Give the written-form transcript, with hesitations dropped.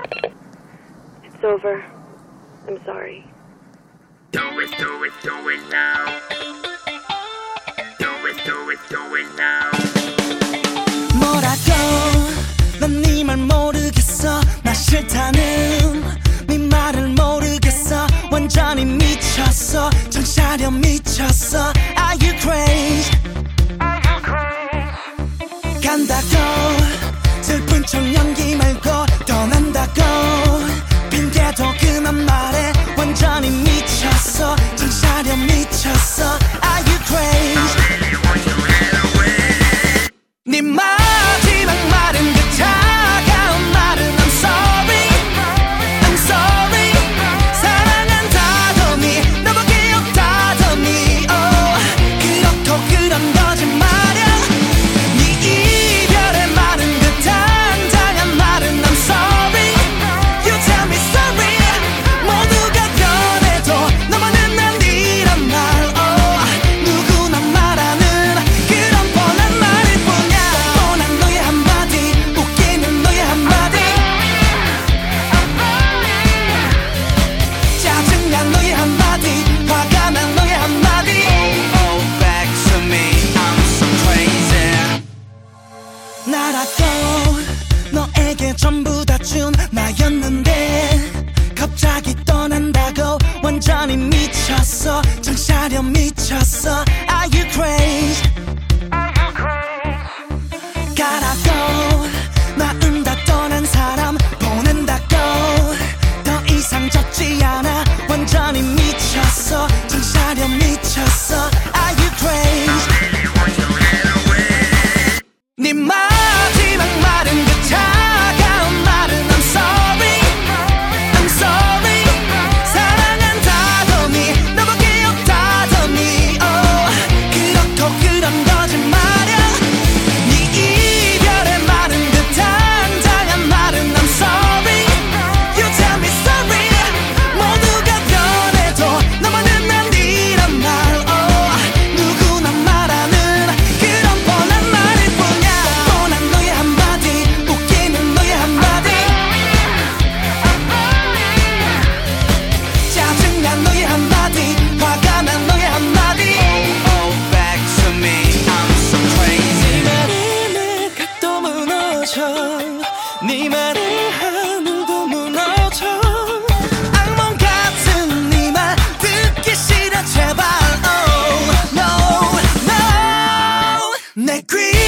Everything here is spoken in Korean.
It's over. I'm sorry. Do it now. Do it now. 뭐라고 난 네 말 모르겠어. 나 싫다는 네 말을 모르겠어. 완전히 미쳤어. 정차려 미쳤어. Are you crazy? 간다고 슬픈 척 연기 말고 떠난다고 핑계도 그만 말해. 완전히 미쳤어. 정차려 미쳤어. Are you crazy? 네 마지막 말은 그 차가운 말은 I'm sorry, I'm sorry. 사랑한다더니 너밖에 없다더니 그렇고 그런 거짓말이야. 네 이별의 말은 그 당당한 말은 I'm sorry. You tell me sorry. 모두가 변해도 너만은 아니란 말. 누구나 말하는 그런 뻔한 말일 뿐이야. 뻔한 너의 한마디, 웃기는 너의 한마디, 짜증난 너의 한마디, 화가 난 너의 한마디. Oh, back to me, I'm so crazy. 나라고 너에게 전부 다 준 나였는데 갑자기 떠난다고 완전히 미쳤어. 정차려 미쳤어. Are you crazy? 가라고 낳은다 떠난 사람 보낸다고 더 이상 젖지 않아. 완전히 미쳤어. 정차려 미쳤어. Are you crazy? 네 마지막 말은 그 차가운 말은 I'm sorry, I'm sorry. 사랑한다더니 너밖에 없다더니 그렇고 그런 거짓말이야. 네 이별의 말은 그 당당한 말은 I'm sorry. You tell me sorry. 모두가 변해도 너만은 아니란 말. 누구나 말하는 그런 뻔한 말일 뿐이야. 뻔한 너의 한마디, 웃기는 너의 한마디, 짜증난 너의 한마디, 화가 난 너의 한마디. Oh, back to me, I'm so crazy. 네 말에 내가 또 무너져. 네 말에 하늘도 무너져. 악몽 같은 네 말 듣기 싫어 제발. Oh, no, no. 내 귀